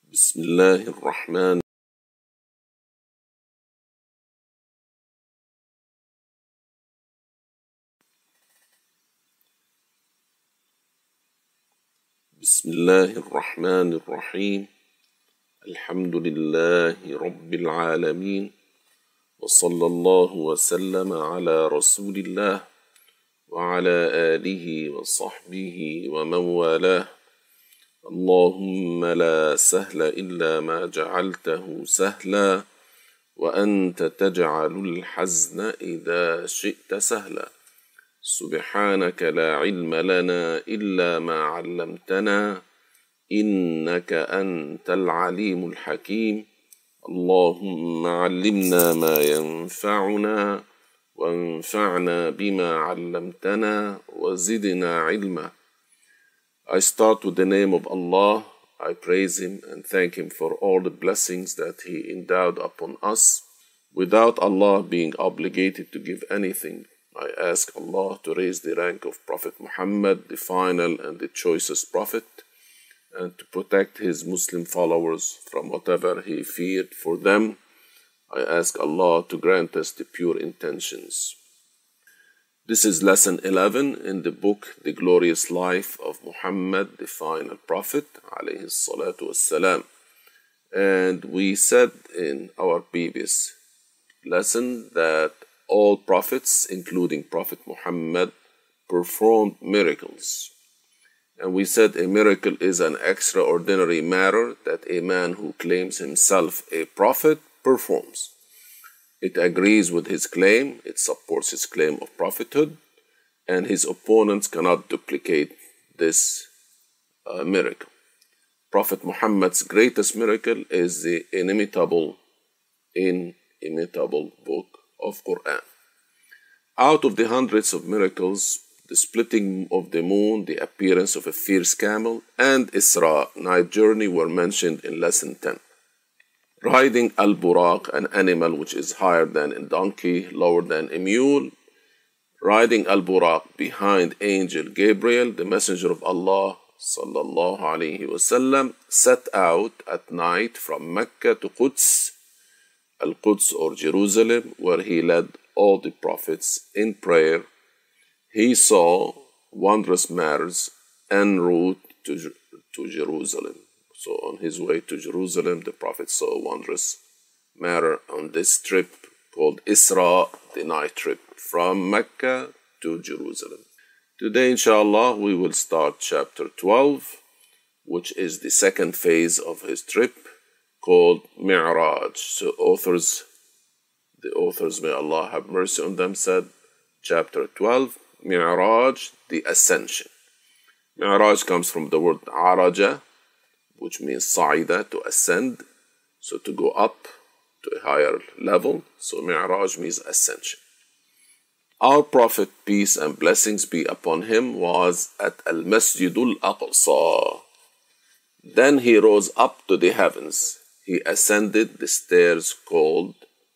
بسم الله الرحمن بسم الله الرحمن الرحيم. الحمد لله رب العالمين، وصلى الله وسلم على رسول الله وعلى آله وصحبه ومن والاه. اللهم لا سهل إلا ما جعلته سهلا، وأنت تجعل الحزن إذا شئت سهلا. سبحانك لا علم لنا إلا ما علمتنا، إنك أنت العليم الحكيم. اللهم علمنا ما ينفعنا، وانفعنا بما علمتنا، وزدنا علما. I start with the name of Allah. I praise Him and thank Him for all the blessings that He endowed upon us, without Allah being obligated to give anything. I ask Allah to raise the rank of Prophet Muhammad, the final and the choicest Prophet, and to protect his Muslim followers from whatever he feared for them. I ask Allah to grant us the pure intentions. This is lesson 11 in the book The Glorious Life of Muhammad, the final Prophet, alayhi salatu wassalam. And we said in our previous lesson that all prophets, including Prophet Muhammad, performed miracles. And we said a miracle is an extraordinary matter that a man who claims himself a prophet performs. It agrees with his claim, it supports his claim of prophethood, and his opponents cannot duplicate this miracle. Prophet Muhammad's greatest miracle is the inimitable book of Quran. Out of the hundreds of miracles, the splitting of the moon, the appearance of a fierce camel, and Isra, night journey, were mentioned in lesson 10. Riding al-Buraq, an animal which is higher than a donkey, lower than a mule. Riding al-Buraq behind angel Gabriel, the messenger of Allah, sallallahu alayhi wasallam, set out at night from Mecca to Quds, Al-Quds or Jerusalem, where he led all the prophets in prayer. He saw wondrous matters en route to Jerusalem. So on his way to Jerusalem, the Prophet saw a wondrous matter on this trip called Isra, the night trip from Mecca to Jerusalem. Today, inshallah, we will start chapter 12, which is the second phase of his trip, called Mi'raj. So the authors, may Allah have mercy on them, said, chapter 12, Mi'raj, the ascension. Mi'raj comes from the word Araja, which means Sa'ida, to ascend, so to go up to a higher level. So Mi'raj means ascension. Our Prophet, peace and blessings be upon him, was at Al-Masjidul Aqsa. Then he rose up to the heavens. He ascended the stairs called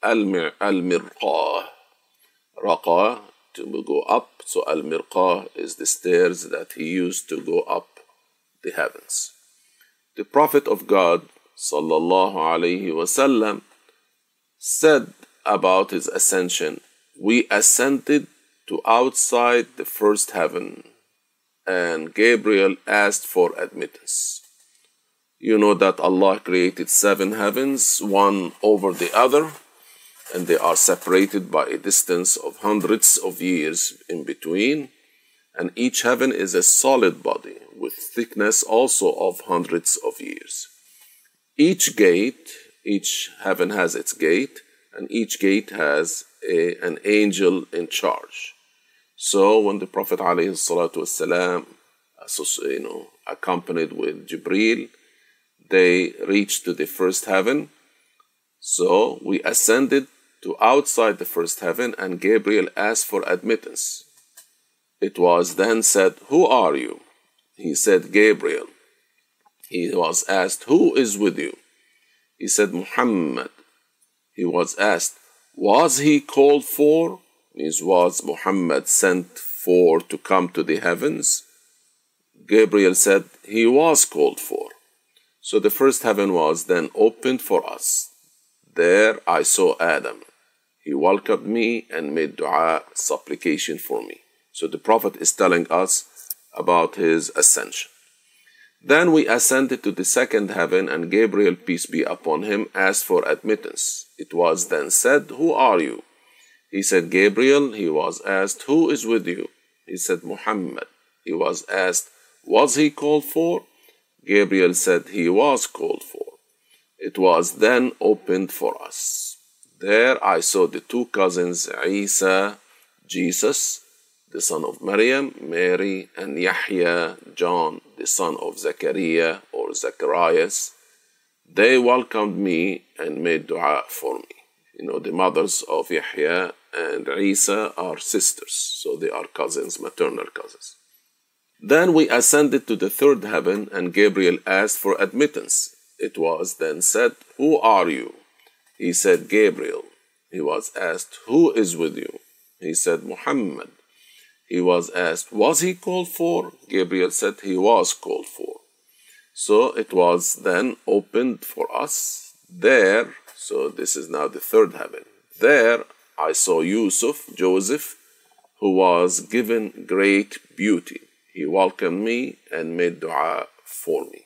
Al-Mirqah. Raqa, to go up. So Al-Mirqah is the stairs that he used to go up the heavens. The Prophet of God, sallallahu alayhi wasallam, said about his ascension, we ascended to outside the first heaven, and Gabriel asked for admittance. You know that Allah created 7 heavens, one over the other, and they are separated by a distance of hundreds of years in between, and each heaven is a solid body with thickness also of hundreds of years. Each heaven has its gate, and each gate has an angel in charge. So when the Prophet ﷺ, accompanied with Jibreel, they reached to the first heaven. So we ascended to outside the first heaven, and Gabriel asked for admittance. It was then said, who are you? He said, Gabriel. He was asked, who is with you? He said, Muhammad. He was asked, was he called for? Means, was Muhammad sent for to come to the heavens? Gabriel said, he was called for. So the first heaven was then opened for us. There I saw Adam. He welcomed me and made dua, supplication for me. So the Prophet is telling us about his ascension. Then we ascended to the second heaven, and Gabriel, peace be upon him, asked for admittance. It was then said, "Who are you?" He said, "Gabriel." He was asked, "Who is with you?" He said, "Muhammad." He was asked, "Was he called for?" Gabriel said, "He was called for." It was then opened for us. There I saw the two cousins, Isa, Jesus, the son of Maryam, Mary, and Yahya, John, the son of Zechariah or Zacharias. They welcomed me and made dua for me. You know, the mothers of Yahya and Isa are sisters, so they are cousins, maternal cousins. Then we ascended to the third heaven, and Gabriel asked for admittance. It was then said, "Who are you?" He said, "Gabriel." He was asked, "Who is with you?" He said, "Muhammad." He was asked, "Was he called for?" Gabriel said, "He was called for." So it was then opened for us. There, so this is now the third heaven. There I saw Joseph, who was given great beauty. He welcomed me and made dua for me.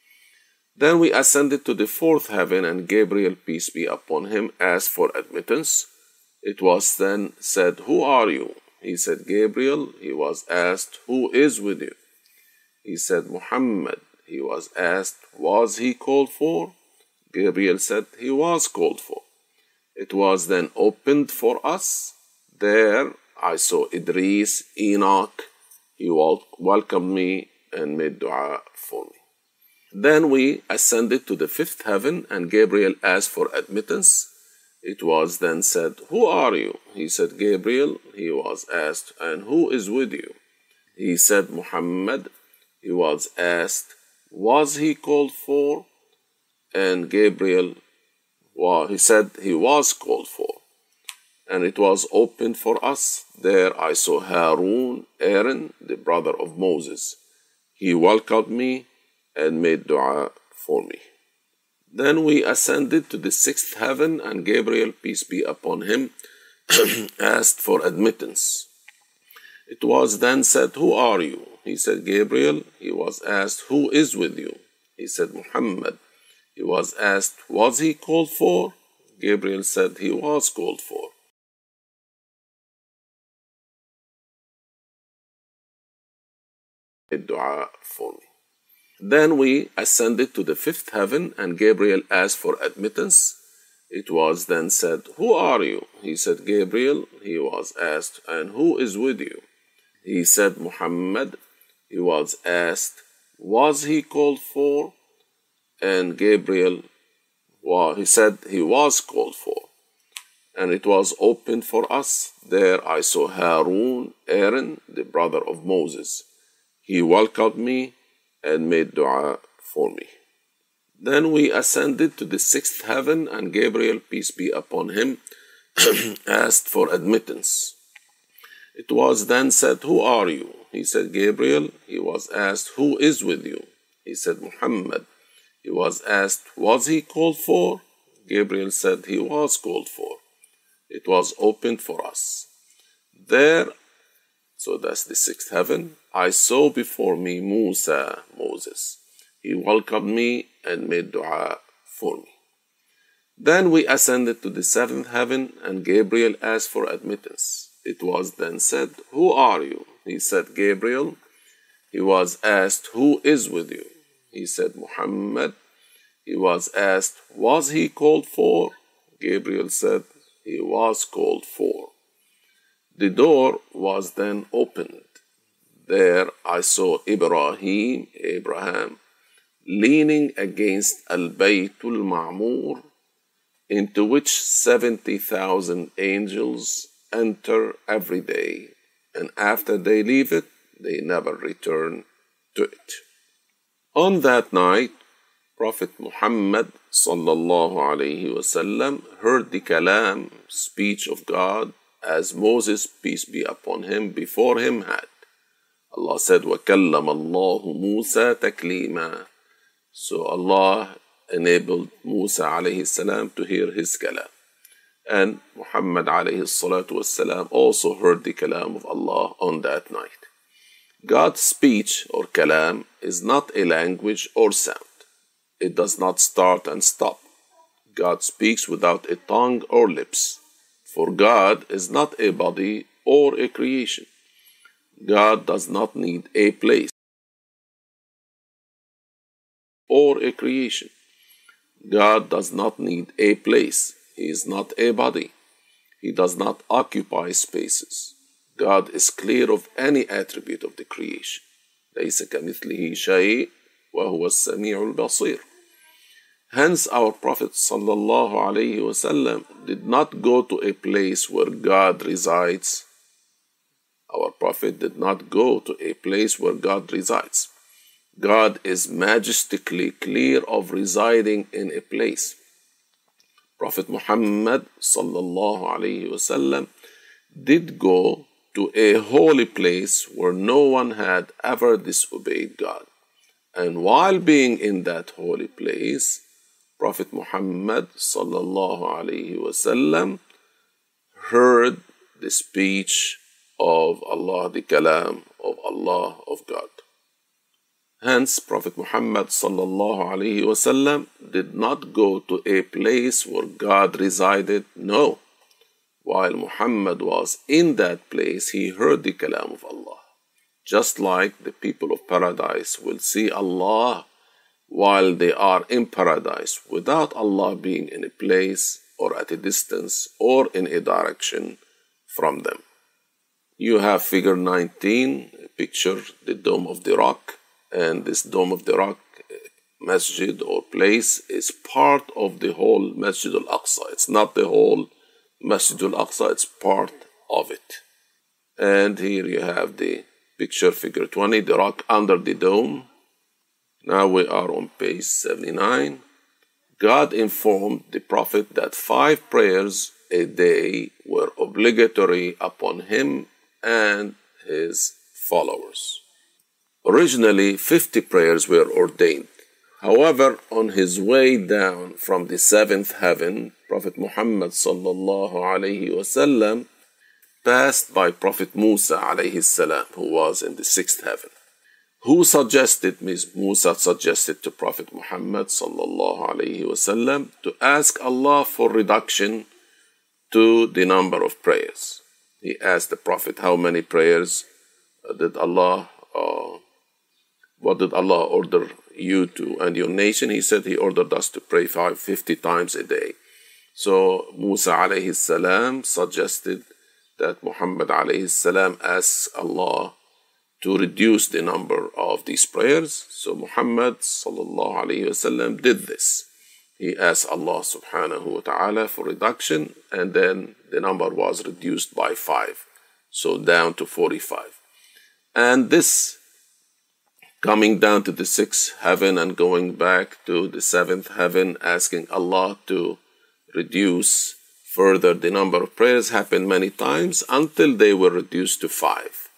Then we ascended to the fourth heaven, and Gabriel, peace be upon him, asked for admittance. It was then said, "Who are you?" He said, "Gabriel." He was asked, "Who is with you?" He said, "Muhammad." He was asked, "Was he called for?" Gabriel said, "He was called for." It was then opened for us. There I saw Idris, Enoch. He welcomed me and made dua for me. Then we ascended to the fifth heaven, and Gabriel asked for admittance. It was then said, "Who are you?" He said, "Gabriel." He was asked, "And who is with you?" He said, "Muhammad." He was asked, "Was he called for?" And Gabriel, he said he was called for. And it was opened for us. There I saw Harun, Aaron, the brother of Moses. He welcomed me and made dua for me. Then we ascended to the sixth heaven, and Gabriel, peace be upon him, asked for admittance. It was then said, "Who are you?" He said, "Gabriel." He was asked, "Who is with you?" He said, "Muhammad." He was asked, "Was he called for?" Gabriel said, "He was called for." Dua for me. Then we ascended to the fifth heaven, and Gabriel asked for admittance. It was then said, "Who are you?" He said, "Gabriel." He was asked, "And who is with you?" He said, "Muhammad." He was asked, "Was he called for?" And Gabriel, he said he was called for. And it was opened for us. There I saw Harun, Aaron, the brother of Moses. He welcomed me and made dua for me. Then we ascended to the sixth heaven, and Gabriel, peace be upon him, asked for admittance. It was then said, "Who are you?" He said, "Gabriel." He was asked, "Who is with you?" He said, "Muhammad." He was asked, "Was he called for?" Gabriel said he was called for. It was opened for us. There, so that's the sixth heaven, I saw before me Musa, Moses. He welcomed me and made dua for me. Then we ascended to the seventh heaven, and Gabriel asked for admittance. It was then said, "Who are you?" He said, "Gabriel." He was asked, "Who is with you?" He said, "Muhammad." He was asked, "Was he called for?" Gabriel said, "He was called for." The door was then opened. There I saw Abraham, leaning against Al-Baytul Ma'mur, into which 70,000 angels enter every day, and after they leave it, they never return to it. On that night, Prophet Muhammad sallallahu alayhi wasallam heard the kalam, speech of God, as Moses, peace be upon him, before him had. Allah said, وَكَلَّمَ اللَّهُ مُوسَى تَكْلِيمًا. So Allah enabled Musa alayhi salam to hear his kalam. And Muhammad alayhi salatu wassalam also heard the kalam of Allah on that night. God's speech or kalam is not a language or sound. It does not start and stop. God speaks without a tongue or lips. For God is not a body or a creation. God does not need a place or a creation. God does not need a place. He is not a body. He does not occupy spaces. God is clear of any attribute of the creation. ليس كمثله شيء وهو السميع البصير. Hence our Prophet sallallahu alaihi wasallam did not go to a place where God resides. Our Prophet did not go to a place where God resides. God is majestically clear of residing in a place. Prophet Muhammad sallallahu alaihi wasallam did go to a holy place where no one had ever disobeyed God. And while being in that holy place, Prophet Muhammad sallallahu alaihi wasallam heard the speech of Allah, the kalam of Allah, of God. Hence, Prophet Muhammad sallallahu alaihi wasallam did not go to a place where God resided. No. While Muhammad was in that place, he heard the kalam of Allah. Just like the people of paradise will see Allah while they are in paradise without Allah being in a place or at a distance or in a direction from them. You have figure 19, a picture, the Dome of the Rock. And this Dome of the Rock masjid or place is part of the whole Masjid al-Aqsa. It's not the whole Masjid al-Aqsa, it's part of it. And here you have the picture, figure 20, the rock under the dome. Now we are on page 79. God informed the Prophet that 5 prayers a day were obligatory upon him and his followers. Originally, 50 prayers were ordained. However, on his way down from the 7th heaven, Prophet Muhammad sallallahu alayhi wasallam passed by Prophet Musa alayhi salam, who was in the 6th heaven. Who suggested, Musa suggested to Prophet Muhammad sallallahu alayhi wasallam to ask Allah for reduction to the number of prayers. He asked the Prophet, how many prayers did Allah what did Allah order you to and your nation? He said he ordered us to pray 50 times a day. So Musa alayhi salam suggested that Muhammad alayhi salam asks Allah to reduce the number of these prayers. So Muhammad sallallahu alayhi wasallam did this. He asked Allah subhanahu wa ta'ala for reduction, and then the number was reduced by 5. So down to 45. And this coming down to the 6th heaven and going back to the 7th heaven, asking Allah to reduce further the number of prayers happened many times until they were reduced to 5.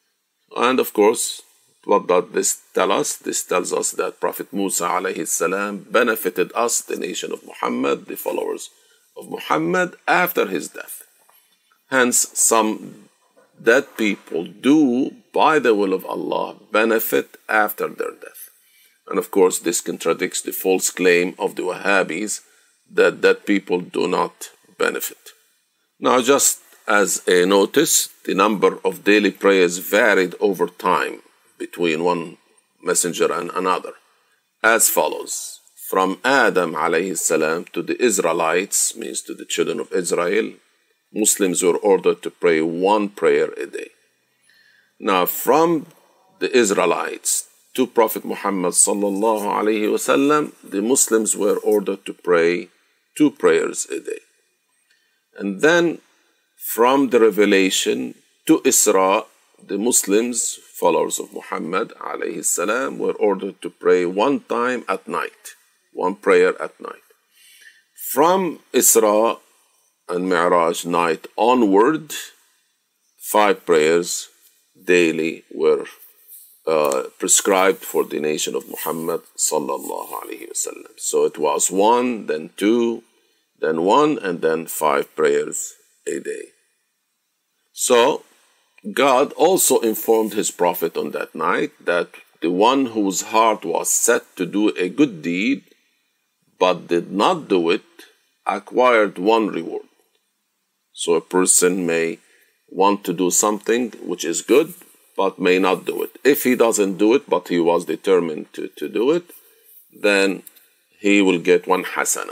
And of course, what does this tell us? This tells us that Prophet Musa alayhi salam benefited us, the nation of Muhammad, the followers of Muhammad, after his death. Hence, some dead people do, by the will of Allah, benefit after their death. And of course, this contradicts the false claim of the Wahhabis that dead people do not benefit. Now, just as a notice, the number of daily prayers varied over time between one messenger and another, as follows. From Adam alayhi salam to the Israelites, means to the children of Israel, Muslims were ordered to pray 1 prayer a day. Now, from the Israelites to Prophet Muhammad sallallahu alayhi wasallam, the Muslims were ordered to pray 2 prayers a day. And then, from the revelation to Isra, the Muslims, followers of Muhammad alayhi salam, were ordered to pray 1 time at night, 1 prayer at night. From Isra and Mi'raj night onward, 5 prayers daily were prescribed for the nation of Muhammad sallallahu alaihi wasallam. So it was 1, then 2, then 1, and then 5 prayers a day. So God also informed his prophet on that night that the one whose heart was set to do a good deed but did not do it acquired 1 reward. So a person may want to do something which is good but may not do it. If he doesn't do it but he was determined to do it, then he will get 1 hasana.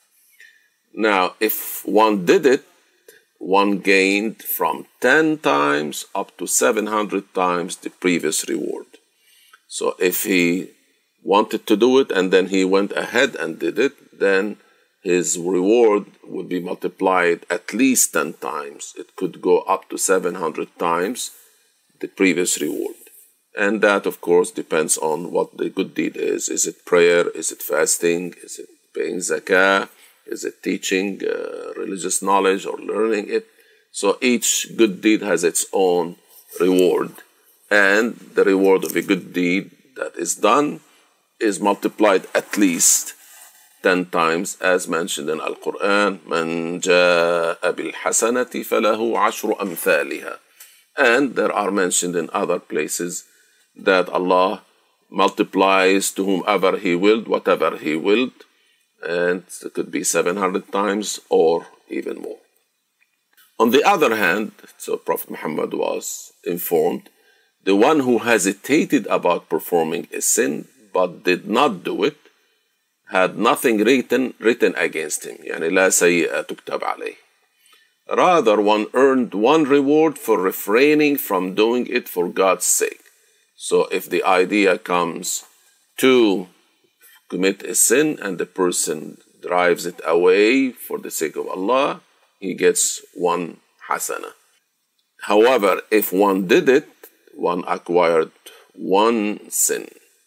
Now, if one did it, one gained from 10 times up to 700 times the previous reward. So if he wanted to do it and then he went ahead and did it, then his reward would be multiplied at least 10 times. It could go up to 700 times the previous reward. And that, of course, depends on what the good deed is. Is it prayer? Is it fasting? Is it paying zakah? Is it teaching religious knowledge or learning it? So each good deed has its own reward. And the reward of a good deed that is done is multiplied at least 10 times, as mentioned in Al-Quran. مَنْ جَاءَ بِالْحَسَنَةِ فَلَهُ عَشْرُ أَمْثَالِهَا. And there are mentioned in other places that Allah multiplies to whomever He willed, whatever He willed. And it could be 700 times or even more. On the other hand, so Prophet Muhammad was informed, the one who hesitated about performing a sin but did not do it had nothing written against him. يعني لا سيئة تكتب عليه. Rather, one earned 1 reward for refraining from doing it for God's sake. So if the idea comes to commit a sin and the person drives it away for the sake of Allah, he gets 1 hasana. However, if one did it, one acquired 1 sin.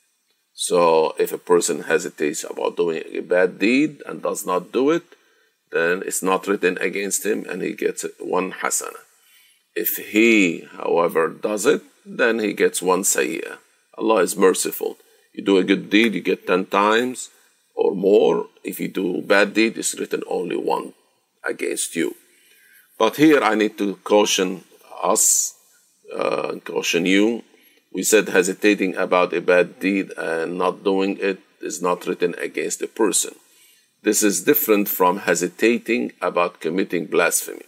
So if a person hesitates about doing a bad deed and does not do it, then it's not written against him and he gets 1 hasana. If he, however, does it, then he gets 1 sayyah. Allah is merciful. You do a good deed, you get 10 times or more. If you do a bad deed, it's written only 1 against you. But here I need to caution us, caution you. We said hesitating about a bad deed and not doing it is not written against a person. This is different from hesitating about committing blasphemy.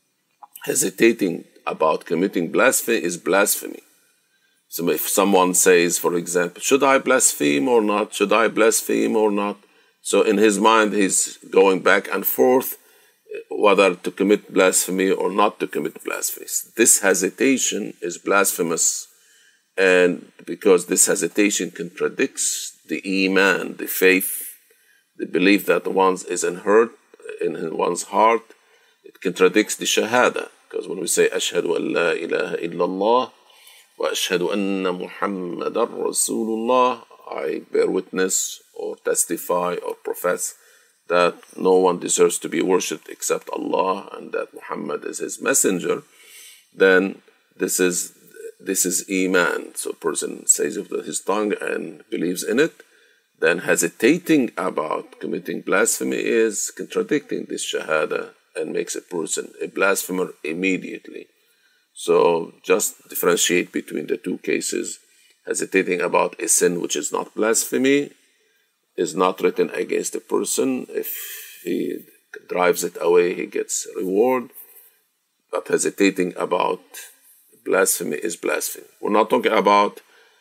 Hesitating about committing blasphemy is blasphemy. So if someone says, for example, should I blaspheme or not? Should I blaspheme or not? So in his mind, he's going back and forth whether to commit blasphemy or not to commit blasphemy. This hesitation is blasphemous, and because this hesitation contradicts the iman, the faith, the belief that one is in one's heart, it contradicts the shahada. Because when we say ashhadu an la ilaha illallah wa ashhadu anna Muhammadan Rasulullah, I bear witness or testify or profess that no one deserves to be worshipped except Allah and that Muhammad is his messenger, then this is iman. So a person says it with his tongue and believes in it. Then hesitating about committing blasphemy is contradicting this shahada and makes a person a blasphemer immediately. So just differentiate between the 2 cases. Hesitating about a sin which is not blasphemy is not written against a person. If he drives it away, he gets reward. But hesitating about blasphemy is blasphemy. We're not talking about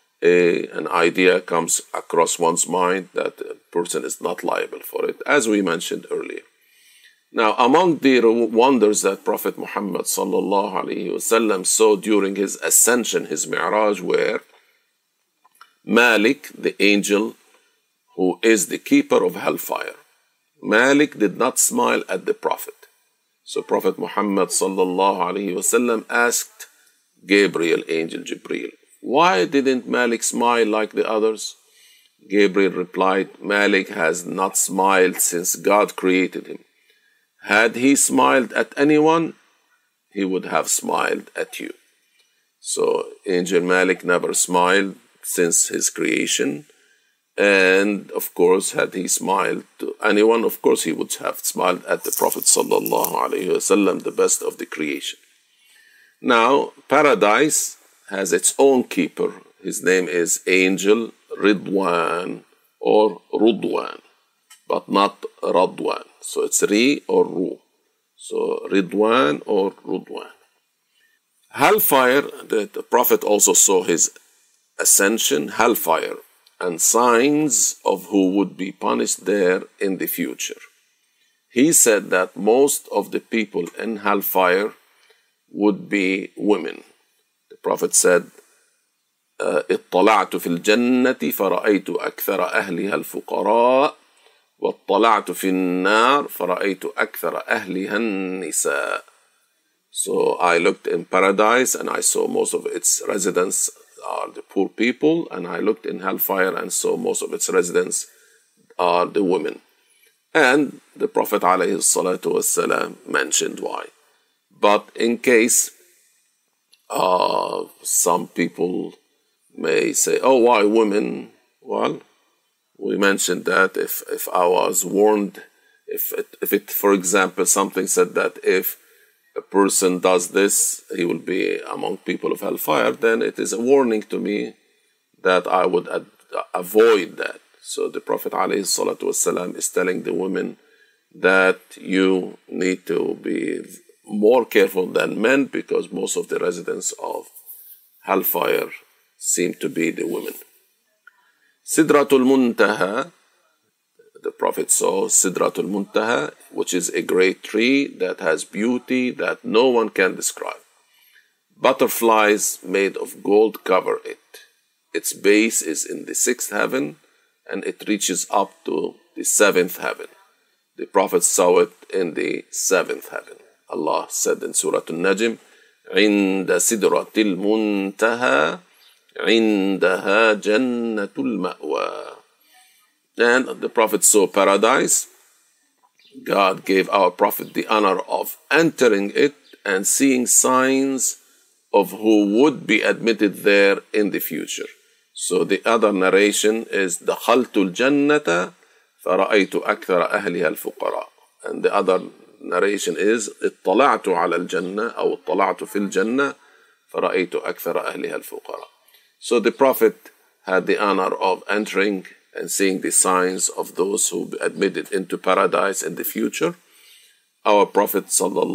an idea comes across one's mind that a person is not liable for it, as we mentioned earlier. Now, among the wonders that Prophet Muhammad sallallahu alaihi wasallam saw during his ascension, his mi'raj, were Malik, the angel who is the keeper of hellfire. Malik did not smile at the Prophet. So Prophet Muhammad sallallahu alaihi wasallam asked Gabriel, angel Jibreel, why didn't Malik smile like the others? Gabriel replied, Malik has not smiled since God created him. Had he smiled at anyone, he would have smiled at you. So Angel Malik never smiled since his creation. And of course, had he smiled to anyone, of course he would have smiled at the Prophet sallallahu alaihi wasallam, the best of the creation. Now, paradise has its own keeper. His name is Angel Ridwan or Rudwan, but not Radwan. So it's Ri or Ru. So Ridwan or Rudwan. Hellfire, the Prophet also saw his ascension, hellfire, and signs of who would be punished there in the future. He said that most of the people in hellfire would be women. The Prophet said, اطلعت في الجنة فرأيت أكثر أهلها الفقراء واطلعت في النار فرأيت أكثر أهلها النساء. So I looked in paradise and I saw most of its residents are the poor people, and I looked in hellfire and saw most of its residents are the women. And the Prophet ﷺ mentioned why. But in case some people may say, oh, why women? Well, we mentioned that if I was warned, if it, for example, something said that if a person does this, he will be among people of hellfire, then it is a warning to me that I would avoid that. So the Prophet ﷺ is telling the women that you need to be more careful than men, because most of the residents of hellfire seem to be the women. Sidratul Muntaha, the Prophet saw Sidratul Muntaha, which is a great tree that has beauty that no one can describe. Butterflies made of gold cover it. Its base is in the 6th heaven and it reaches up to the 7th heaven. The Prophet saw it in the 7th heaven. Allah said in Surah Al-Najm, عند سدرة المنتهى عندها جنة المأوى. And the Prophet saw paradise. God gave our Prophet the honor of entering it and seeing signs of who would be admitted there in the future. So the other narration is دخلت الجنة فرأيت أكثر أهلها الفقراء. And the other narration is اطلعت على الجنة أو اطلعت في الجنة فرأيت أكثر أهلها الفقراء. So the Prophet had the honor of entering and seeing the signs of those who be admitted into paradise in the future. Our Prophet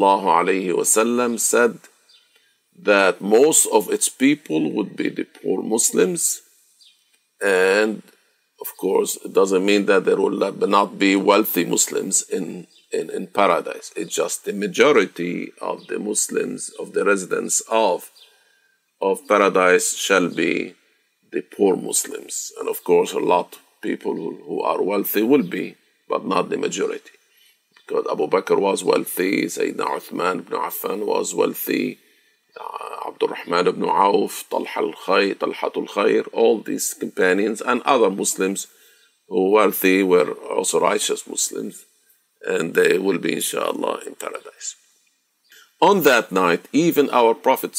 ﷺ said that most of its people would be the poor Muslims, and of course it doesn't mean that there will not be wealthy Muslims in paradise. It's just the majority of the Muslims, of the residents of paradise, shall be the poor Muslims. And of course a lot of people who are wealthy will be, but not the majority. Because Abu Bakr was wealthy, Sayyidina Uthman ibn Affan was wealthy, Abdul Rahman ibn Auf, Talhatul Khair, all these companions and other Muslims who were wealthy were also righteous Muslims, and they will be inshallah in paradise. On that night, even our Prophet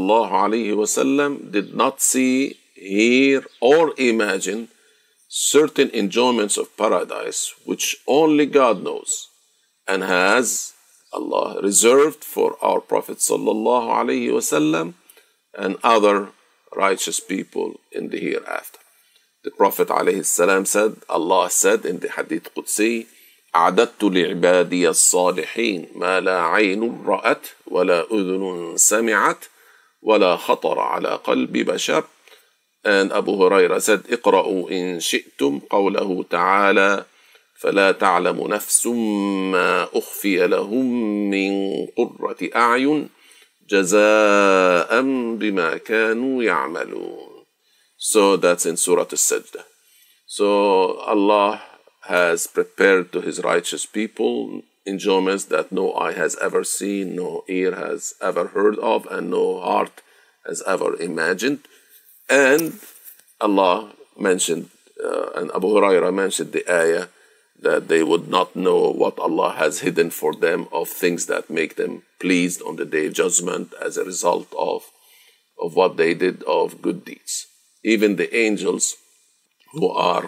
ﷺ did not see, hear, or imagine certain enjoyments of paradise which only God knows and has Allah reserved for our Prophet ﷺ and other righteous people in the hereafter. The Prophet ﷺ said, Allah said in the Hadith Qudsi, أعددت لعبادي الصالحين ما لا عين رأت ولا أذن سمعت ولا خطر على قلب بشر. And Abu Huraira said, اقرأوا إن شئتم قوله تعالى فلا تعلم نفس ما أخفي لهم من قرة أعين جزاء بما كانوا يعملون. So that's in Surah Al-Sajdah. So Allah has prepared to His righteous people enjoyments that no eye has ever seen, no ear has ever heard of, and no heart has ever imagined. And Allah mentioned, and Abu Huraira mentioned the ayah that they would not know what Allah has hidden for them of things that make them pleased on the Day of Judgment as a result of of what they did of good deeds. Even the angels who are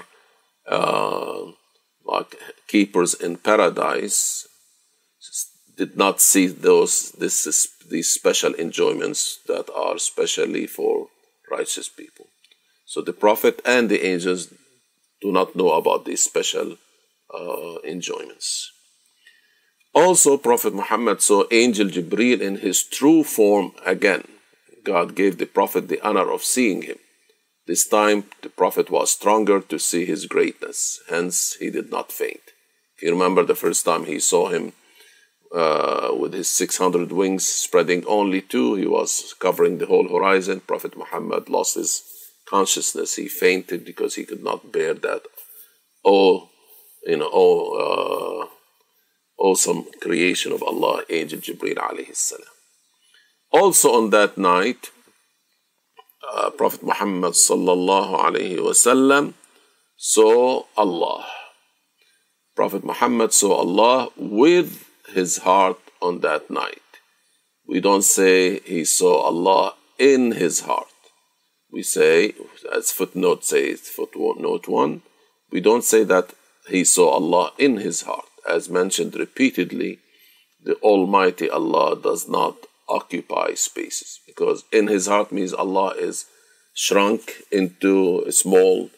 like keepers in paradise did not see these special enjoyments that are specially for righteous people. So the Prophet and the angels do not know about these special enjoyments. Also, Prophet Muhammad saw Angel Jibreel in his true form again. God gave the Prophet the honor of seeing him. This time, the Prophet was stronger to see his greatness. Hence, he did not faint. If you remember the first time he saw him with his 600 wings spreading only two, he was covering the whole horizon. Prophet Muhammad lost his consciousness. He fainted because he could not bear that awesome creation of Allah, Angel Jibreel alayhi salam. Also on that night, Prophet Muhammad sallallahu alayhi wasallam saw Allah. Prophet Muhammad saw Allah with his heart on that night. We don't say he saw Allah in his heart. We say, as footnote says, footnote 1, we don't say that he saw Allah in his heart. As mentioned repeatedly, the Almighty Allah does not occupy spaces, because in his heart means Allah is shrunk into a small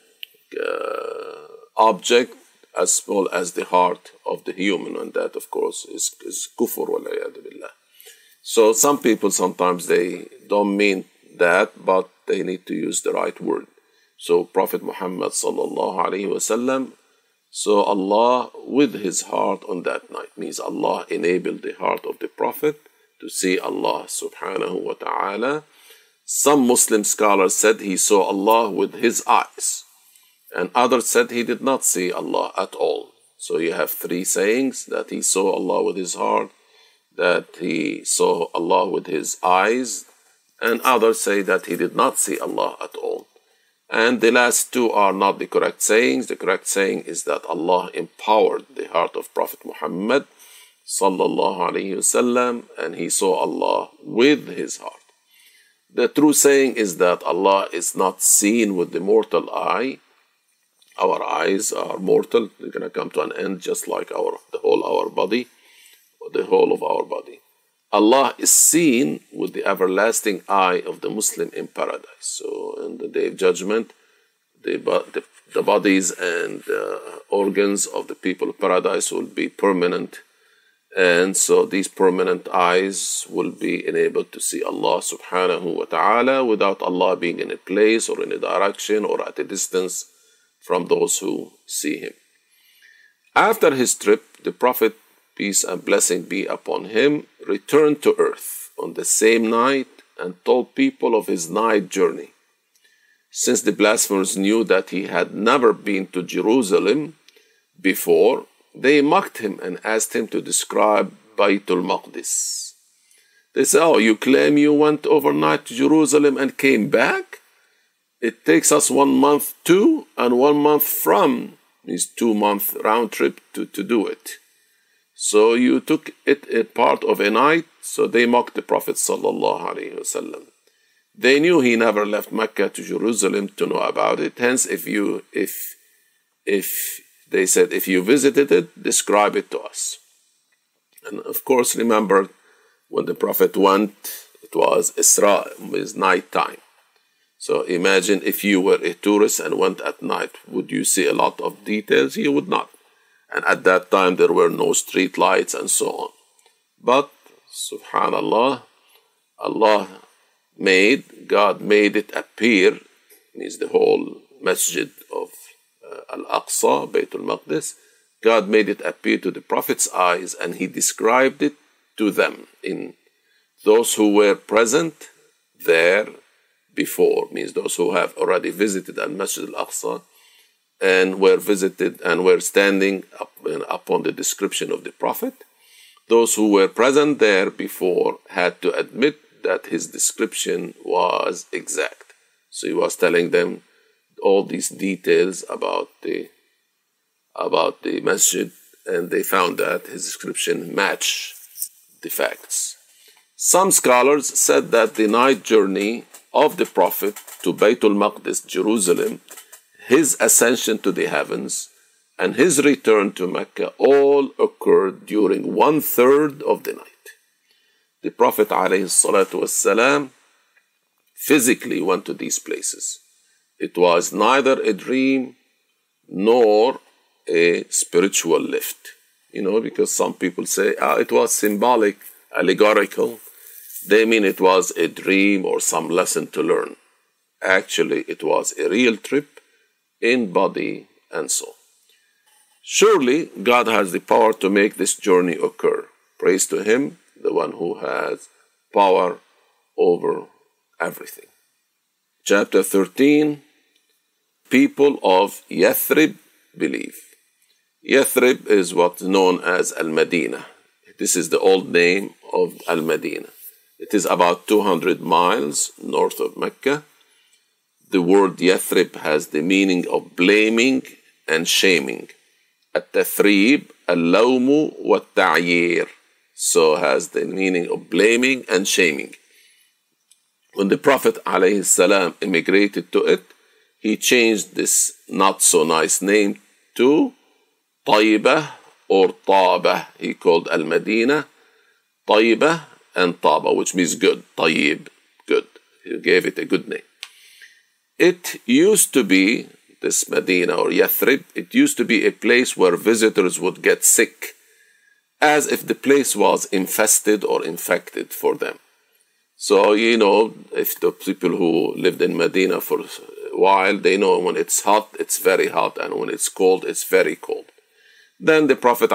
object as small as the heart of the human, and that of course is kufr wal-'iyadu billah. So some people sometimes they don't mean that, but they need to use the right word. So Prophet Muhammad sallallahu alaihi wasallam saw Allah with his heart on that night, means Allah enabled the heart of the Prophet to see Allah subhanahu wa ta'ala. Some Muslim scholars said he saw Allah with his eyes, and others said he did not see Allah at all. So you have three sayings: that he saw Allah with his heart, that he saw Allah with his eyes, and others say that he did not see Allah at all. And the last two are not the correct sayings. The correct saying is that Allah empowered the heart of Prophet Muhammad sallallahu alaihi wasallam, and he saw Allah with his heart. The true saying is that Allah is not seen with the mortal eye. Our eyes are mortal; they're going to come to an end, just like the whole of our body. Allah is seen with the everlasting eye of the Muslim in paradise. So, in the Day of Judgment, the bodies and organs of the people of paradise will be permanent. And so these permanent eyes will be enabled to see Allah subhanahu wa ta'ala without Allah being in a place or in a direction or at a distance from those who see him. After his trip, the Prophet, peace and blessing be upon him, returned to earth on the same night and told people of his night journey. Since the blasphemers knew that he had never been to Jerusalem before, they mocked him and asked him to describe Baytul Maqdis. They said, "Oh, you claim you went overnight to Jerusalem and came back? It takes us 1 month to and 1 month from," means 2-month round trip to do it. So you took it a part of a night. So they mocked the Prophet sallallahu alaihi wasallam. They knew he never left Mecca to Jerusalem to know about it. Hence, if they said, if you visited it, describe it to us. And of course, remember when the Prophet went, it was Isra, it was night time. So imagine if you were a tourist and went at night, would you see a lot of details? You would not. And at that time, there were no street lights and so on. But, subhanallah, God made it appear, means the whole masjid of Al-Aqsa, Baytul Maqdis, God made it appear to the Prophet's eyes, and he described it to them. In those who were present there before, means those who have already visited Al-Masjid Al-Aqsa, and were visited and were standing upon the description of the Prophet. Those who were present there before had to admit that his description was exact. So he was telling them all these details about the masjid, and they found that his description matched the facts. Some scholars said that the night journey of the Prophet to Baytul Maqdis, Jerusalem, his ascension to the heavens, and his return to Mecca all occurred during 1/3 of the night. The Prophet ﷺ physically went to these places. It was neither a dream nor a spiritual lift. Because some people say it was symbolic, allegorical. They mean it was a dream or some lesson to learn. Actually, it was a real trip in body and soul. Surely, God has the power to make this journey occur. Praise to Him, the one who has power over everything. Chapter 13, people of Yathrib believe. Yathrib is what's known as Al-Madinah. This is the old name of Al-Madinah. It is about 200 miles north of Mecca. The word Yathrib has the meaning of blaming and shaming. At-Tathrib, Al-Lawmu wa-Ta'yir. So has the meaning of blaming and shaming. When the Prophet ﷺ immigrated to it, he changed this not so nice name to Tayyibah or Taba. He called Al-Madinah Tayyibah and Taba, which means good. Tayyib, good. He gave it a good name. It used to be, this Medina or Yathrib, it used to be a place where visitors would get sick, as if the place was infested or infected for them. So, if the people who lived in Medina for a while, they know when it's hot, it's very hot, and when it's cold, it's very cold. Then the Prophet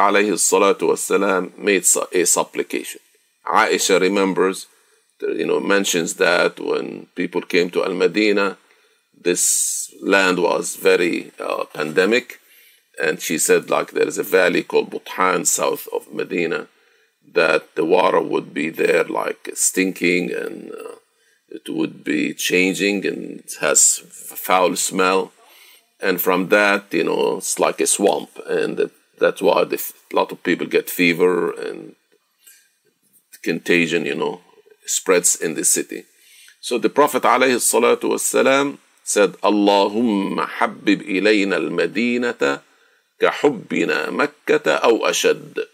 ﷺ made a supplication. Aisha remembers, mentions that when people came to Al-Madinah, this land was very pandemic, and she said there is a valley called Buthan south of Medina, that the water would be there stinking, and it would be changing, and it has foul smell, and from that, it's like a swamp, and that's why a lot of people get fever, and contagion, spreads in the city. So the Prophet ﷺ said, Allahumma habbib ilayna al-Madinata كحبنا مكة أو أشد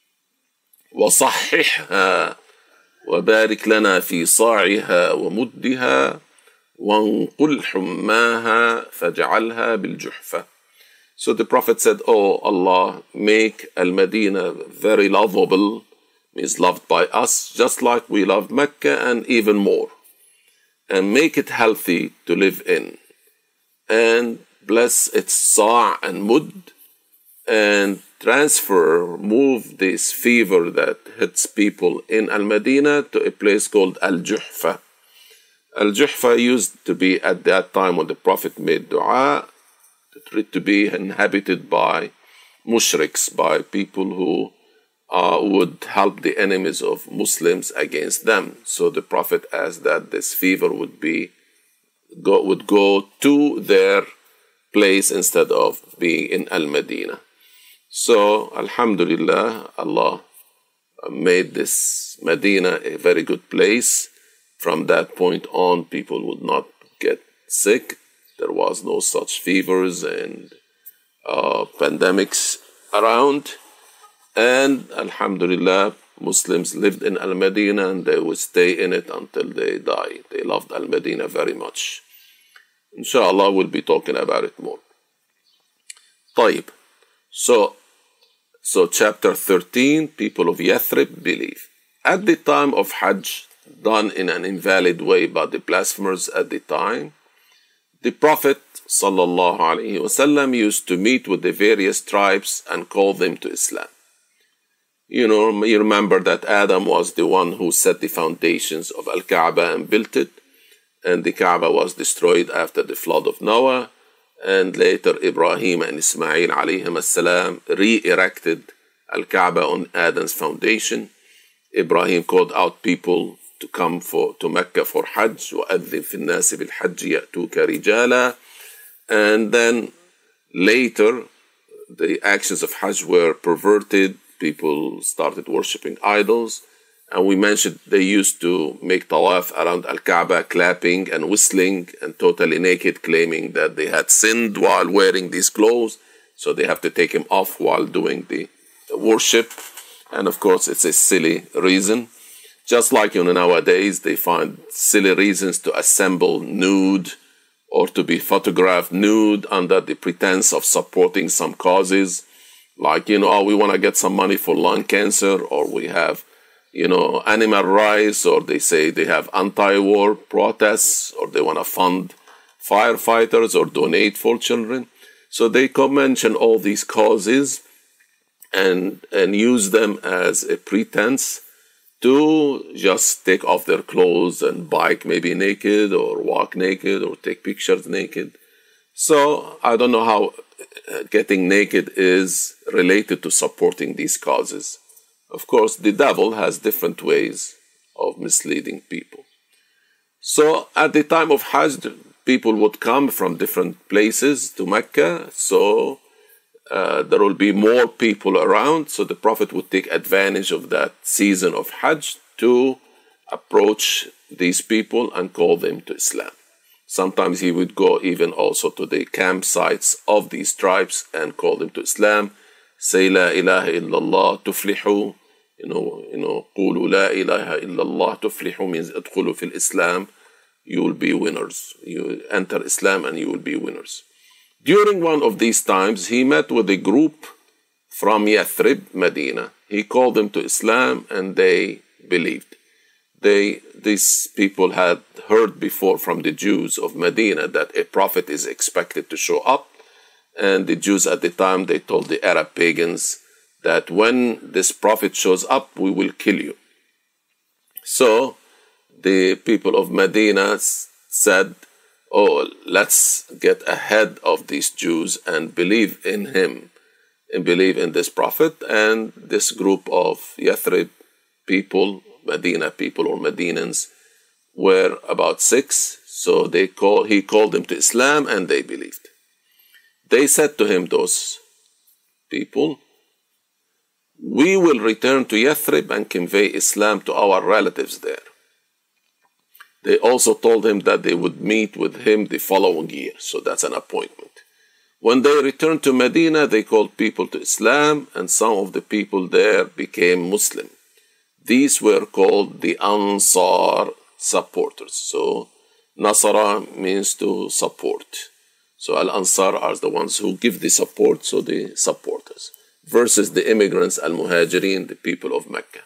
وصححها وبارك لنا في صاعها ومدها وانقل حماها فاجعلها بالجحفة. So the Prophet said, Oh Allah, make Al-Madinah very lovable, means loved by us, just like we love Mecca and even more. And make it healthy to live in. And bless its sa' and mud, and move this fever that hits people in Al-Madinah to a place called Al-Juhfa. Al-Juhfa used to be, at that time when the Prophet made dua, to be inhabited by mushriks, by people who would help the enemies of Muslims against them. So the Prophet asked that this fever would go to their place instead of being in Al-Madinah. So, Alhamdulillah, Allah made this Medina a very good place. From that point on, people would not get sick. There was no such fevers and pandemics around. And Alhamdulillah, Muslims lived in Al-Madinah, and they would stay in it until they die. They loved Al-Madinah very much. Inshallah, we'll be talking about it more. طيب. So chapter 13, people of Yathrib believe. At the time of Hajj, done in an invalid way by the blasphemers at the time, the Prophet ﷺ used to meet with the various tribes and call them to Islam. You remember that Adam was the one who set the foundations of Al-Kaaba and built it, and the Kaaba was destroyed after the flood of Noah. And later Ibrahim and Ismail alayhim as-salam re-erected Al-Kaaba on Adam's foundation. Ibrahim called out people to come to Mecca for Hajj. وَأَذِّن فِي النَّاسِ بِالْحَجِّ يَأْتُوكَ رِجَالًا. And then later the actions of Hajj were perverted. People started worshipping idols. And we mentioned they used to make tawaf around Al-Kaaba, clapping and whistling and totally naked, claiming that they had sinned while wearing these clothes. So they have to take them off while doing the worship. And of course, it's a silly reason. Just like nowadays, they find silly reasons to assemble nude or to be photographed nude under the pretense of supporting some causes. Like, oh, we want to get some money for lung cancer, or we have, animal rights, or they say they have anti-war protests, or they want to fund firefighters or donate for children. So they mention all these causes and use them as a pretense to just take off their clothes and bike maybe naked or walk naked or take pictures naked. So I don't know how getting naked is related to supporting these causes. Of course, the devil has different ways of misleading people. So at the time of Hajj, people would come from different places to Mecca. So there will be more people around. So the Prophet would take advantage of that season of Hajj to approach these people and call them to Islam. Sometimes he would go even also to the campsites of these tribes and call them to Islam. Say La ilaha illallah tuflihu. Qulu la ilaha illallah tuflihu means adkhulu fil Islam. You will be winners. You enter Islam and you will be winners. During one of these times, he met with a group from Yathrib, Medina. He called them to Islam and they believed. These people had heard before from the Jews of Medina that a prophet is expected to show up. And the Jews at the time, they told the Arab pagans that when this prophet shows up, we will kill you. So the people of Medina said, oh, let's get ahead of these Jews and believe in him and believe in this prophet. And this group of Yathrib people, Medina people or Medinans, were about 6. So he called them to Islam and they believed. They said to him, those people, we will return to Yathrib and convey Islam to our relatives there. They also told him that they would meet with him the following year. So that's an appointment. When they returned to Medina, they called people to Islam, and some of the people there became Muslim. These were called the Ansar supporters. So Nasara means to support. So Al-Ansar are the ones who give the support, so the supporters. Versus the immigrants, Al-Muhajirin, the people of Mecca.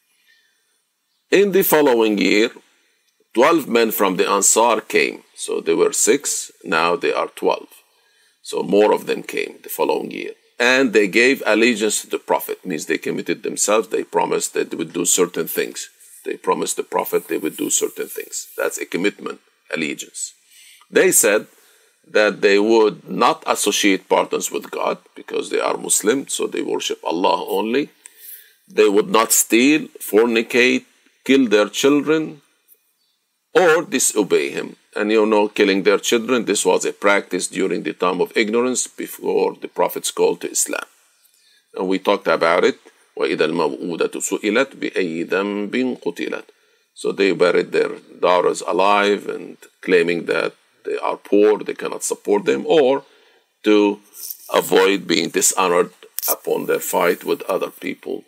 In the following year, 12 men from the Ansar came. So they were 6, now they are 12. So more of them came the following year. And they gave allegiance to the Prophet, means they committed themselves, they promised that they would do certain things. They promised the Prophet they would do certain things. That's a commitment, allegiance. They said that they would not associate partners with God because they are Muslim, so they worship Allah only. They would not steal, fornicate, kill their children, or disobey him. And killing their children, this was a practice during the time of ignorance before the Prophet's call to Islam. And we talked about it. وَإِذَا الْمَوْءُودَةُ سُئِلَتْ بِأَيِّ ذَنْبٍ قُتِلَتْ. So they buried their daughters alive and claiming that they are poor, they cannot support them, or to avoid being dishonored upon their fight with other people.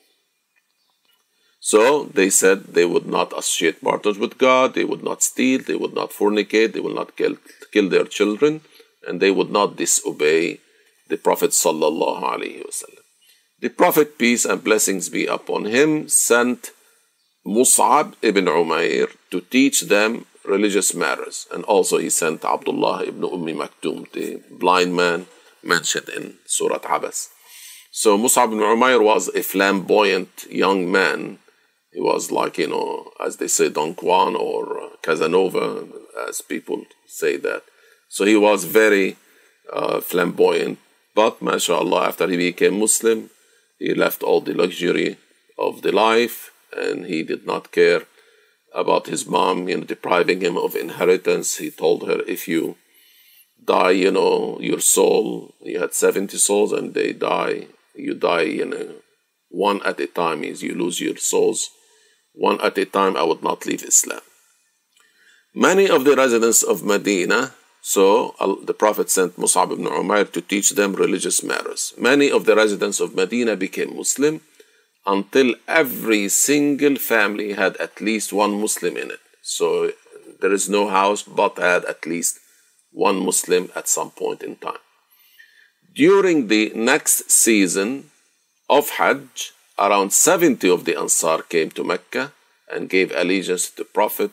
So they said they would not associate partners with God, they would not steal, they would not fornicate, they would not kill their children, and they would not disobey the Prophet sallallahu alaihi wasallam. The Prophet, peace and blessings be upon him, sent Mus'ab ibn Umair to teach them religious matters. And also he sent Abdullah ibn Maktum, the blind man mentioned in Surah Abas. So Mus'ab ibn Umair was a flamboyant young man. He was like, as they say, Don Juan or Casanova, as people say that. So he was very flamboyant. But, mashallah, after he became Muslim, he left all the luxury of the life, and he did not care about his mom, depriving him of inheritance. He told her, if you die, your soul, you had 70 souls, and they die, you die, one at a time, means you lose your souls one at a time, I would not leave Islam. Many of the residents of Medina, so the Prophet sent Mus'ab ibn Umair to teach them religious matters. Many of the residents of Medina became Muslim until every single family had at least one Muslim in it. So there is no house but had at least one Muslim at some point in time. During the next season of Hajj, around 70 of the Ansar came to Mecca and gave allegiance to the Prophet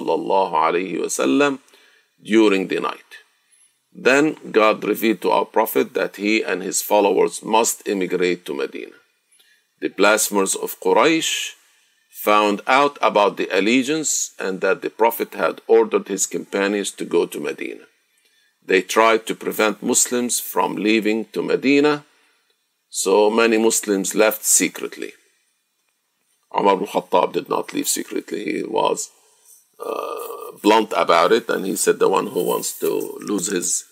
ﷺ during the night. Then God revealed to our Prophet that he and his followers must immigrate to Medina. The blasphemers of Quraysh found out about the allegiance and that the Prophet had ordered his companions to go to Medina. They tried to prevent Muslims from leaving to Medina, so many Muslims left secretly. Umar ibn Khattab did not leave secretly. He was blunt about it, and he said the one who wants to lose his,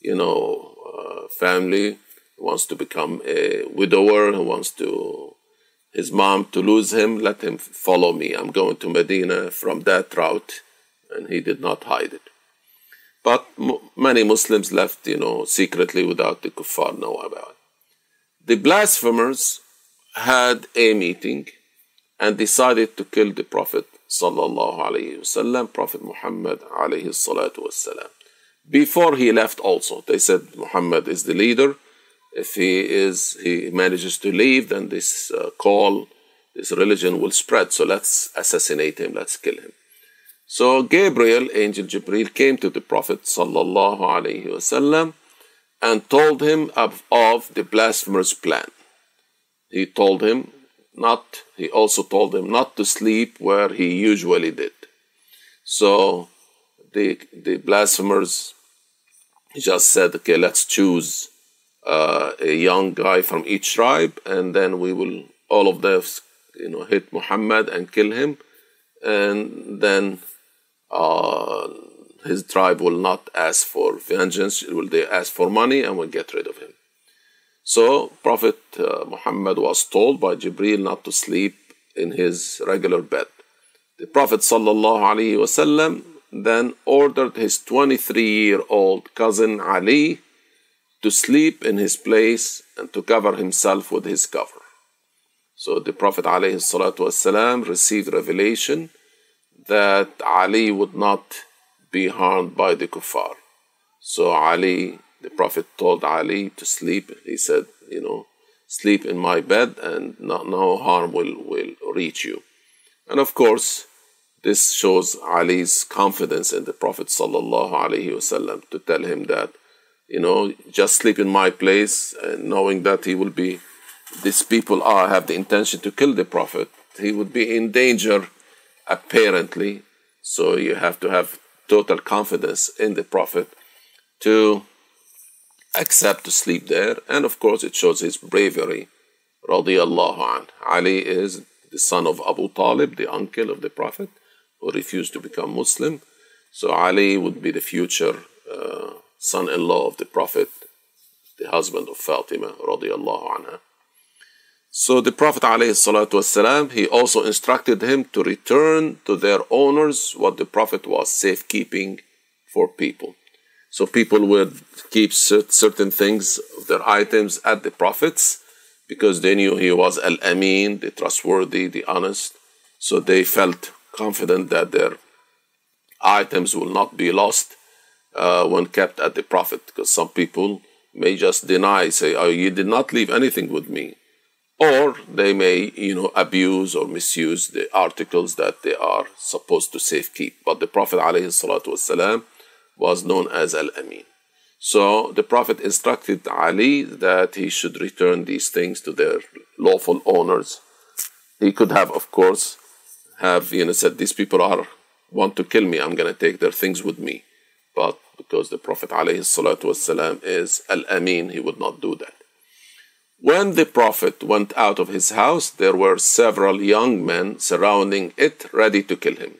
family, who wants to become a widower, who wants his mom to lose him, let him follow me. I'm going to Medina from that route, and he did not hide it. But many Muslims left, secretly without the kuffar know about it. The blasphemers had a meeting and decided to kill the Prophet sallallahu alaihi wasallam, Prophet Muhammad alayhi salatu wasalam. Before he left also, they said Muhammad is the leader. If he manages to leave, then this this religion will spread. So let's assassinate him, let's kill him. So Gabriel, Angel Jibreel, came to the Prophet sallallahu alaihi wasallam and told him of the blasphemer's plan. He also told him not to sleep where he usually did. So the blasphemers just said, okay, let's choose a young guy from each tribe, and then we will all of them, hit Muhammad and kill him, and then his tribe will not ask for vengeance. They ask for money and will get rid of him. So Prophet Muhammad was told by Jibreel not to sleep in his regular bed. The Prophet ﷺ then ordered his 23-year-old cousin Ali to sleep in his place and to cover himself with his cover. So the Prophet ﷺ received revelation that Ali would not be harmed by the kuffar. So the Prophet told Ali to sleep. He said, sleep in my bed and no harm will reach you. And of course, this shows Ali's confidence in the Prophet sallallahu alaihi wasallam to tell him that, just sleep in my place, and knowing that these people have the intention to kill the Prophet. He would be in danger, apparently. So you have to have total confidence in the Prophet to accept to sleep there. And of course, it shows his bravery, radiyallahu anh. Ali is the son of Abu Talib, the uncle of the Prophet, who refused to become Muslim. So Ali would be the future son-in-law of the Prophet, the husband of Fatima, radiyallahu anha. So the Prophet ﷺ, he also instructed him to return to their owners what the Prophet was safekeeping for people. So people would keep certain things, their items at the Prophet's, because they knew he was Al-Amin, the trustworthy, the honest. So they felt confident that their items will not be lost when kept at the Prophet, because some people may just deny, say, oh, you did not leave anything with me. Or they may, abuse or misuse the articles that they are supposed to safekeep. But the Prophet ﷺ was known as Al-Amin. So the Prophet instructed Ali that he should return these things to their lawful owners. He could have, of course, said, these people want to kill me, I'm going to take their things with me. But because the Prophet ﷺ is Al-Amin, he would not do that. When the Prophet went out of his house, there were several young men surrounding it, ready to kill him.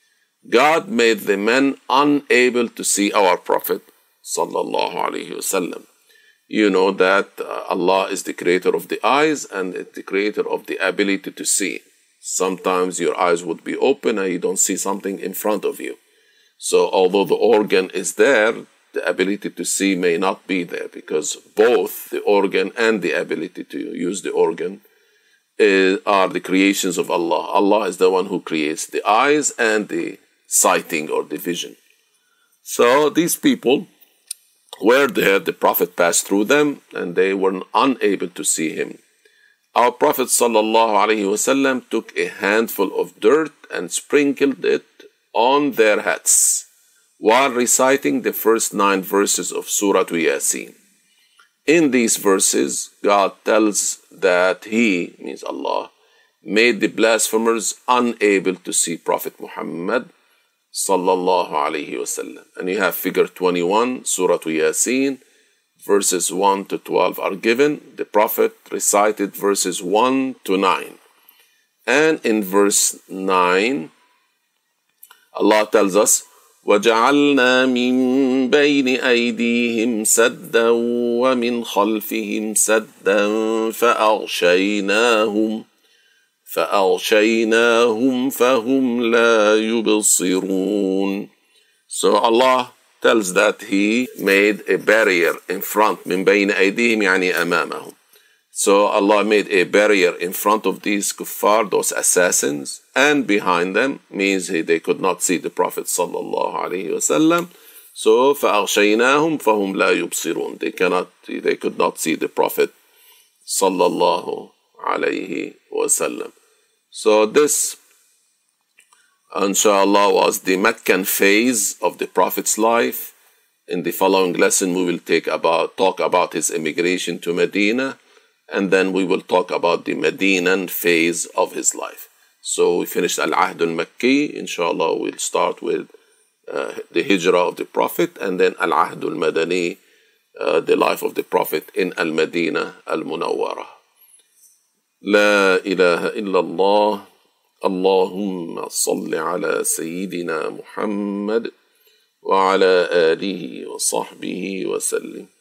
God made the men unable to see our Prophet sallallahu alaihi wasallam. You know that Allah is the creator of the eyes and the creator of the ability to see. Sometimes your eyes would be open and you don't see something in front of you. So although the organ is there, the ability to see may not be there, because both the organ and the ability to use the organ are the creations of Allah. Allah is the one who creates the eyes and the sighting or the vision. So these people were there, the Prophet passed through them, and they were unable to see him. Our Prophet ﷺ took a handful of dirt and sprinkled it on their heads while reciting the first 9 verses of Surah Yasin. In these verses, God tells that He, means Allah, made the blasphemers unable to see Prophet Muhammad sallallahu alayhi wasallam. And you have figure 21, Surah Yasin, verses 1 to 12 are given. The Prophet recited verses 1 to 9. And in verse 9, Allah tells us, وَجَعَلْنَا مِن بَيْنِ أَيْدِيهِمْ سَدًّا وَمِنْ خَلْفِهِمْ سَدًّا فَأَغْشَيْنَاهُمْ فَهُمْ لَا يُبْصِرُونَ. So Allah tells that He made a barrier in front. مِن بَيْنِ أَيْدِيهِمْ يعني أمامهم. So Allah made a barrier in front of these kuffar, those assassins, and behind them, means they could not see the Prophet sallallahu alaihi wasallam. So فَأَغْشَيْنَاهُمْ فَهُمْ لَا يُبْصِرُونَ. They could not see the Prophet sallallahu alaihi wasallam. So this, inshallah, was the Meccan phase of the Prophet's life. In the following lesson, we will talk about his immigration to Medina, and then we will talk about the Medinan phase of his life. So we finished Al-Ahd al-Makki. Inshallah, we'll start with the Hijrah of the Prophet, and then Al-Ahd al-Madani, the life of the Prophet in Al-Madinah al-Munawwarah. La ilaha illallah. Allahumma salli ala Sayyidina Muhammad wa ala alihi wa sahbihi wa sallim.